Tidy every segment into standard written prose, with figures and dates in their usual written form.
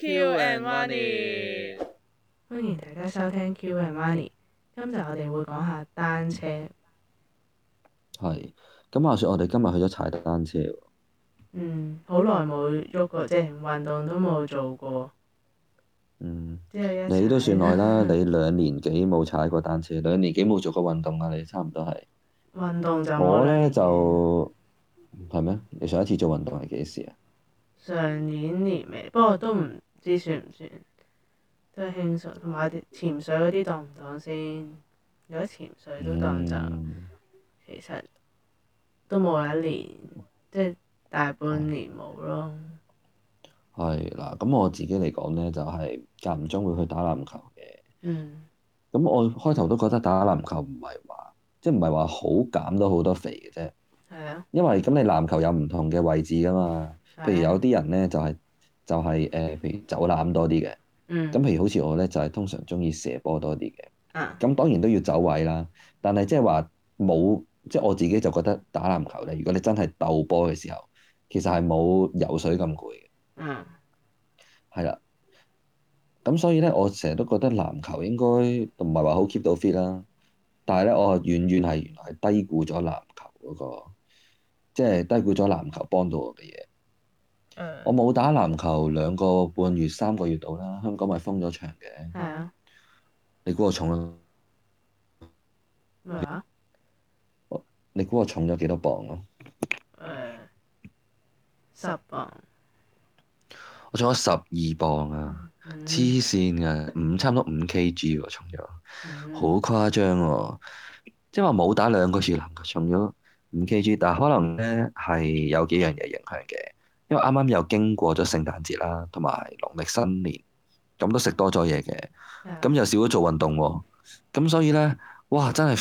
Q and Money， 歡迎大家收聽 Q and Money。今集我哋會講下單車。 係，咁話說我哋今日去咗踩單車喎。 好耐冇喐過，即係運動都冇做過。之後一你都算耐啦， 踩你2年幾冇踩過單車，2年幾冇做過運動啊？你差唔多係。 運動就冇我呢兩年嘅。 就係咩？你上一次做運動係幾時啊？ 上年年尾，不過都唔知算唔算，都係輕鬆。同埋啲潛水嗰啲當唔當先？如果潛水都當就，其實都冇一年，即係大半年冇咯。 係嗱，咁我自己嚟講呢，就係間唔中會去打籃球嘅。 嗯。 咁我開頭都覺得打籃球唔係話，即係唔係話好減到好多肥嘅啫。 係啊。 因為咁你籃球有唔同嘅位置噶嘛，譬如有啲人呢，就係譬如走籃多啲嘅。咁譬如好似我呢，就係通常中意射波多啲嘅。咁當然都要走位啦，但係即係話冇，即係我自己就覺得打籃球呢，如果你真係鬥波嘅時候，其實係冇游水咁攰嘅。係啦，咁所以呢，我成日都覺得籃球應該唔係話好 keep 到 fit 啦，但係呢，我遠遠係原來係低估咗籃球嗰個，即係低估咗籃球幫到我嘅嘢。我冇打籃球2個半月3個月到啦，香港咪封咗場嘅。 係啊。 你估我重咗？ 咩話？ 你估我重咗幾多磅啊？ 10磅。 我重咗12磅啊！黐線㗎，差唔多5 kg 喎，重咗，好誇張喎！即係話冇打2個月籃球，重咗5 kg，但係可能呢係有幾樣嘢影響嘅，因為啱啱又經過咗聖誕節啦，同埋農曆新年，咁都食多咗嘢嘅，咁又少咗做運動喎，咁所以呢，哇！真係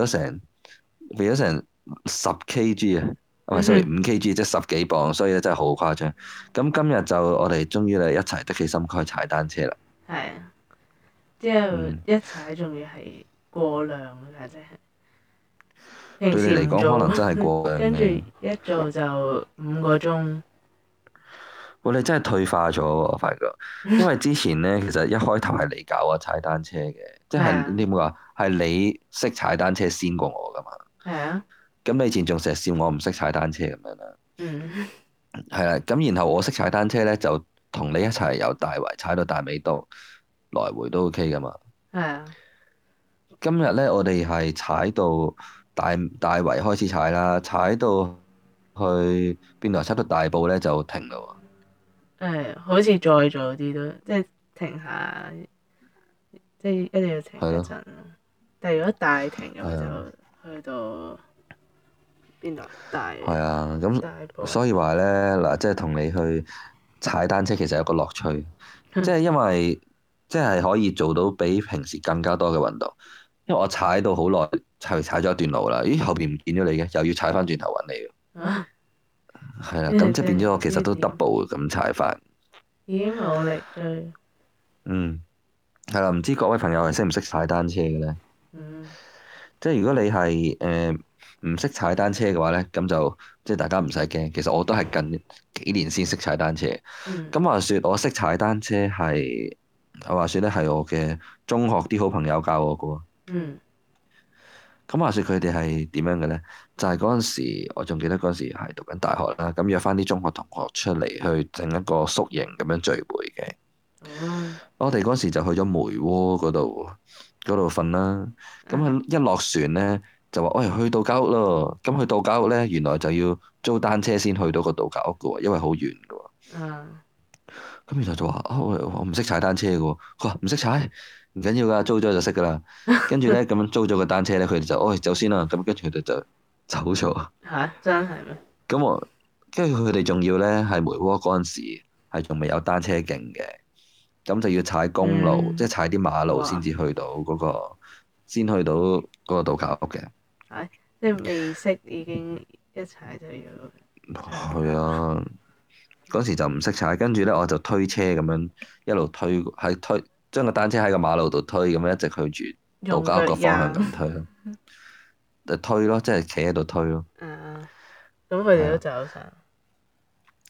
肥咗成10 kg 啊！唔係，sorry，5 kg 即係10幾磅，所以咧真係好誇張。咁今日就我哋終於嚟一齊的起心肝去踩單車啦。 係啊，之後一踩仲要係過量㗎，真係。平對你嚟講時唔做， 可能真係過量跟住嘅。 一做就5個鐘。 你真係退化咗喎，我發覺。因為之前呢，其實一開頭係你教我踩單車嘅，即係你冇話係你識踩單車先過我㗎嘛。 係啊。 咁你以前仲成日笑我唔識踩單車咁樣啦。係啦，咁然後我識踩單車呢，就同你一齊由大圍踩到大尾渡，來回都 OK 㗎嘛。 係啊。 今日呢，我哋係踩到大圍開始踩啦，踩到去邊度？踩到大埔呢就停啦喎。 好似再早啲都，即係停下，即係一定要停一陣咯。但係如果大停嘅話，就去到邊度？ 係啊，咁大埔。 所以話呢，嗱，即係同你去踩單車其實有個樂趣，即係因為即係可以做到比平時更加多嘅運動。因為我踩到好耐，踩咗一段路啦，咦，後邊唔見咗你嘅，又要踩翻轉頭揾你喎。係啦，咁即係變咗我其實都 double 咁踩法。 已經冇力追。 係啦，唔知各位朋友係識唔識踩單車嘅呢？即係如果你係唔識踩單車嘅話呢，咁就即係大家唔使驚。其實我都係近幾年先識踩單車。咁話說我識踩單車係，話說呢係我嘅中學啲好朋友教我嘅。咁話說佢哋係點樣嘅呢？就係嗰陣時，我仲記得嗰陣時係讀緊大學啦。咁約翻啲中學同學出嚟去整一個宿營咁樣聚會嘅。我哋嗰時就去咗梅窩嗰度瞓啦。咁佢一落船呢，就話：喂，去度假屋咯。咁去度假屋呢，原來就要租單車先去到個度假屋嘅喎，因為好遠嘅喎。咁然後就話：我唔識踩單車嘅喎。佢話唔識踩，唔緊要㗎，租咗就識㗎啦。跟住呢，咁樣租咗個單車呢，佢哋就走先啦。咁跟住佢哋就走咗。 真係咩？ 跟住佢哋仲要呢，係梅窩嗰陣時係仲未有單車徑嘅。咁就要踩公路，即係踩啲馬路先至去到先去到嗰個度假屋嘅。 即係未識已經一踩就要。 係啊，嗰時就唔識踩，跟住呢，我就推車咁樣一路推，將個單車喺個馬路度推，咁樣一直去住度假屋個方向咁推咯。就推咯，即係企喺度推咯。 咁佢哋都走晒。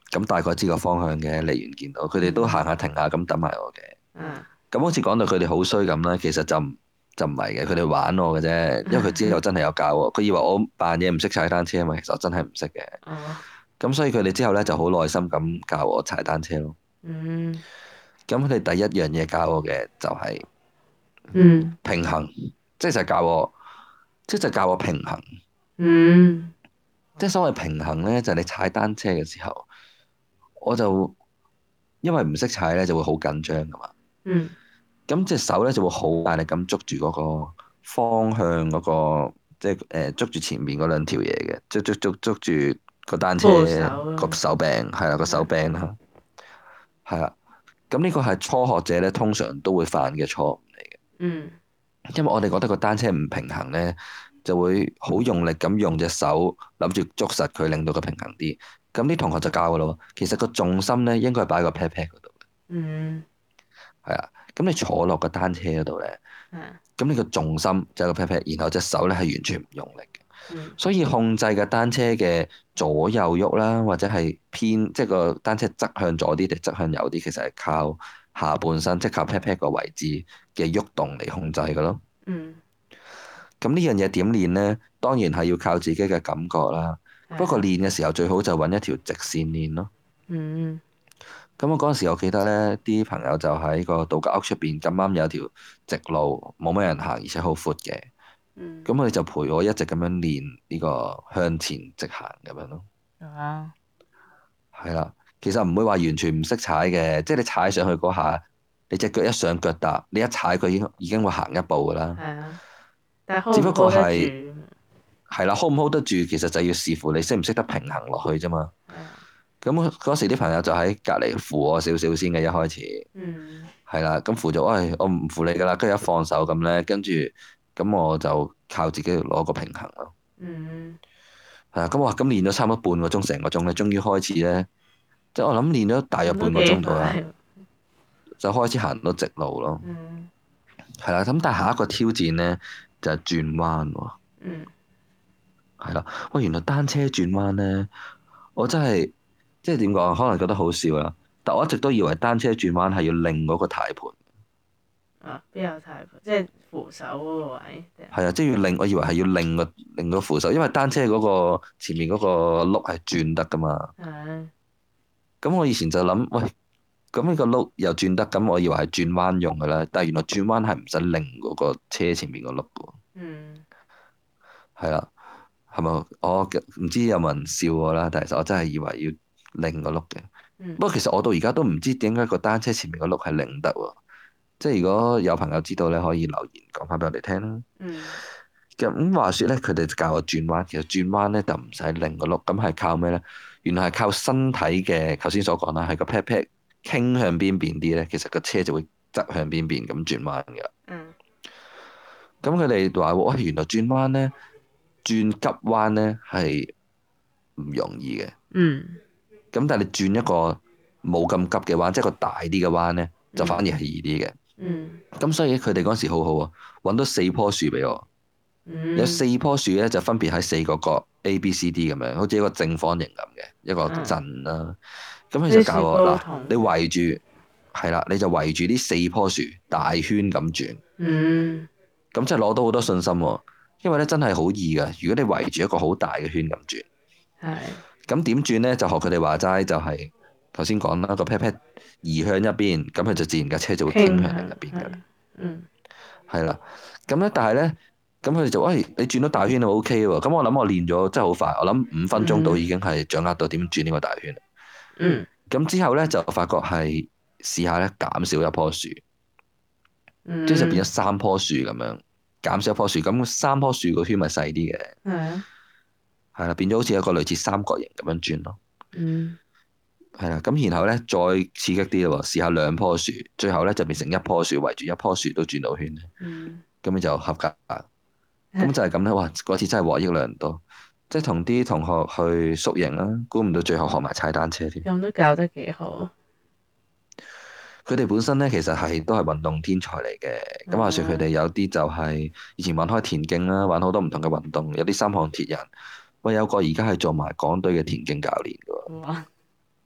咁大概知個方向嘅，離遠見到佢哋都行下停下咁等埋我嘅。 嗯咁好似講到佢哋好衰咁啦，其實就唔係嘅，佢哋玩我嘅啫。因為佢之後真係有教我，佢以為我扮嘢唔識踩單車啊嘛，其實我真係唔識嘅。 哦咁所以佢哋之後咧就好耐心咁教我踩單車咯。 嗯咁佢哋第一樣嘢教我嘅就係嗯平衡，即係就教我，即係就教我平衡。 嗯即係所謂平衡咧，就係你踩單車嘅時候，我就因為唔識踩咧，就會好緊張噶嘛。 嗯咁隻手咧就會好大力咁捉住嗰個方向嗰個，即係捉住前面嗰兩條嘢嘅，捉住個單車扶手個手柄，係啦個手柄啦，係啦。咁呢個係初學者咧通常都會犯嘅錯誤嚟嘅， 嗯因為我哋覺得個單車唔平衡咧，就會好用力咁用隻手諗住捉實佢，令到佢平衡啲。咁啲同學就教噶咯，其實個重心咧應該係擺喺個 pat pat 嗰度嘅， 嗯係啊。咁你坐落個單車嗰度咧。 係咁呢個重心就係個 pat pat，然後隻手咧係完全唔用力嘅， 嗯所以控制嘅單車嘅左右喐啦，或者係偏即係個單車側向左啲定側向右啲，其實係靠下半身，即係靠 pat pat 個位置嘅喐動嚟控制嘅咯。 嗯咁呢樣嘢點練呢？當然係要靠自己嘅感覺啦。不過練嘅時候最好就揾一條直線練咯。 嗯咁我嗰陣時，我記得呢啲朋友就喺個度假屋出邊咁啱有條直路，冇乜人行，而且好闊嘅。 嗯咁佢哋就陪我一直咁樣練呢個向前直行咁樣咯。 啊係啦，其實唔會話完全唔識踩嘅，即係你踩上去嗰下，你隻腳一上腳踏，你一踩佢已經會行一步噶啦。 係啊，但係 hold 只不唔 hold 得過係住？ 係啦，hold 唔 hold 得住，其實就要視乎你識唔識得平衡落去啫嘛。 係啊咁嗰時啲朋友就喺隔離扶我少少先嘅，一開始嗯係啦，咁扶咗，喂，我唔扶你噶啦，跟住一放手咁咧，跟住咁我就靠自己攞個平衡咯。 嗯係啊，咁我話咁練咗差唔多半個鐘，成個鐘咧，終於開始咧，即係我諗練咗大約咁都半個幾鐘度啦， 快就開始行到直路咯。 嗯係啦，咁但係下一個挑戰咧就係轉彎喎。 嗯係啦，喂，原來單車轉彎咧，我真係即係點講啊？可能覺得好笑啦，但我一直都以為單車轉彎係要擰嗰個軚盤。 啊邊有太即係扶手嗰個位定係係啊，即係要擰，我以為係要擰個扶手，因為單車嗰個前面嗰個轆係轉得噶嘛。 係咁我以前就諗，喂，咁呢個轆又轉得，咁我以為係轉彎用噶啦，但係原來轉彎係唔使擰嗰個車前面個轆噶喎。 嗯係啦，係咪？我唔知有冇人笑我啦，但係其實我真係以為要擰個轆嘅。 嗯不過其實我到而家都唔知點解個單車前面個轆係擰得喎。即係如果有朋友知道咧，可以留言講翻俾我哋聽啦。 嗯咁話説咧，佢哋就教我轉彎，其實轉彎咧就唔使擰個轆，咁係靠咩咧？原來係靠身體嘅，頭先所講啦，係個 pat pat 傾向邊邊啲咧，其實個車就會側向邊邊咁轉彎嘅。 嗯咁佢哋話：喂，原來轉彎咧，轉急彎咧係唔容易嘅。 嗯咁但係你轉一個冇咁急嘅彎，即係個大啲嘅彎咧，就反而係易啲嘅。 嗯咁所以佢哋嗰時好好啊，揾到4棵樹俾我。有嗯 4棵樹咧，就分別喺4個角 A、B、C、D 咁樣，好似一個正方形咁嘅一個陣啦。咁佢就教我嗱，你圍住係啦，你就圍住呢4棵樹大圈咁轉。 嗯咁真係攞到好多信心喎，因為咧真係好易噶。如果你圍住一個好大嘅圈咁轉， 係咁點轉咧？就學佢哋話齋，就係頭先講啦，個 pat pat 移向一邊，咁佢就自然架車就會傾向另一邊嘅啦。 嗯係啦，咁咧，但係咧，咁佢哋就喂，你轉到大圈就 O K 喎。咁我諗我練咗真係好快，我諗5分鐘到已經係掌握到點轉呢個大圈。 嗯咁之後咧就發覺係試下咧減少一棵樹，即係就變咗3棵樹咁樣，減少一棵樹，咁3棵樹個圈咪細啲嘅。 係啊係啦，變咗好似一個類似三角形咁樣轉咯。 嗯係啦，咁然後咧再刺激啲咯，試下2棵樹，最後咧就變成一棵樹圍住一棵樹都轉到圈， 嗯咁你就合格。咁就係咁咧，哇！嗰次真係獲益良多，即係同啲同學去宿營啦，估唔到最後學埋踩單車添。 咁都教得幾好。 佢哋本身咧其實都係運動天才嚟嘅。咁話說佢哋有啲就係以前玩開田徑啦，玩好多唔同嘅運動，有啲3項鐵人。喂，有個而家係做埋港隊嘅田徑教練㗎喎。 哇！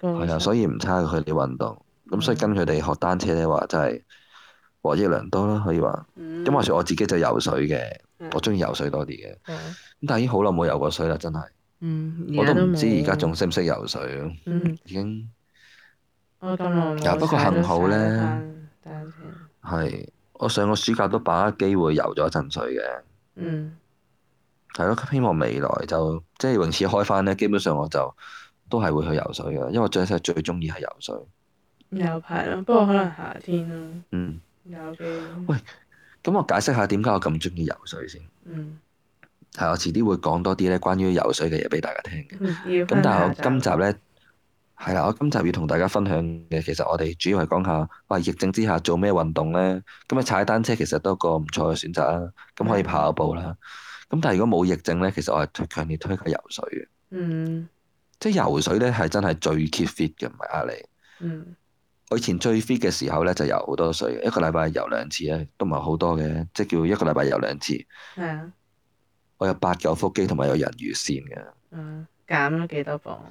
係啊，所以唔差佢哋運動。咁所以跟佢哋學單車咧，話真係獲益良多啦，可以話。咁話說我自己就游水嘅，我中意游水多啲嘅。咁但係已經好耐冇游過水啦，真係。我都唔知而家仲識唔識游水。已經。 我咁耐冇不過幸好咧， 單車。 係我上個暑假都把握機會游咗一陣水嘅。係咯，希望未來就即係泳池開翻咧，基本上我就都係會去游水嘅，因為我最中意係游水。 有排咯，不過可能夏天咯。有機。 喂，咁我解釋下點解我咁中意游水先。係我遲啲會講多啲咧關於游水嘅嘢俾大家聽嘅。咁但係我今集咧係啦，我今集要同大家分享嘅，其實我哋主要係講下，哇！疫症之下做咩運動咧？咁啊，踩單車其實都係個唔錯嘅選擇啦。咁可以跑下步啦。咁但係如果冇疫症咧，其實我係強烈推介游水嘅。即係游水咧係真係最 keep fit 嘅，唔係呃你。我以前最 fit 嘅時候咧就游好多水，一個禮拜游2次咧，都唔係好多嘅，即係叫一個禮拜游2次。 係啊。 我有8嚿腹肌同埋有人魚線嘅。 減咗幾多磅？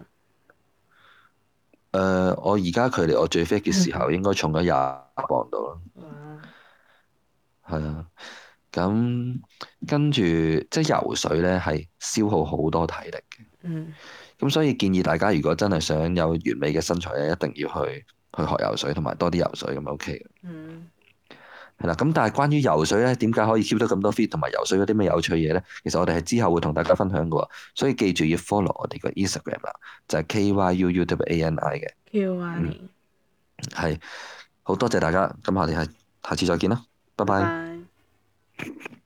我而家距離我最 fit 嘅時候應該重咗20磅到啦。係啊。咁跟住即係游水咧係消耗好多體力嘅。咁所以建議大家如果真係想有完美嘅身材咧，一定要去學游水同埋多啲游水咁 OK 嘅。係啦，咁但係關於游水咧，點解可以 keep 到咁多 fit 同埋游水嗰啲咩有趣嘢咧？其實我哋係之後會同大家分享嘅，所以記住要 follow 我哋個 Instagram 啦，就係 KYUUWANI 嘅。 KYUANI。 係，好多謝大家，咁我哋係下次再見啦，拜拜。